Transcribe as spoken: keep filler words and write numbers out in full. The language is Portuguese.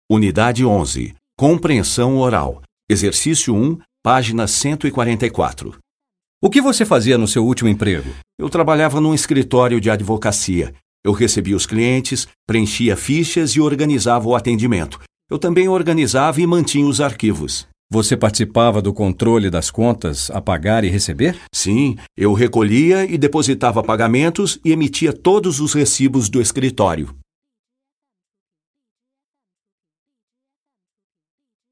Unidade onze. Compreensão oral. Exercício um, página cento e quarenta e quatro. O que você fazia no seu último emprego? Eu trabalhava num escritório de advocacia. Eu recebia os clientes, preenchia fichas e organizava o atendimento. Eu também organizava e mantinha os arquivos. Você participava do controle das contas a pagar e receber? Sim, eu recolhia e depositava pagamentos e emitia todos os recibos do escritório.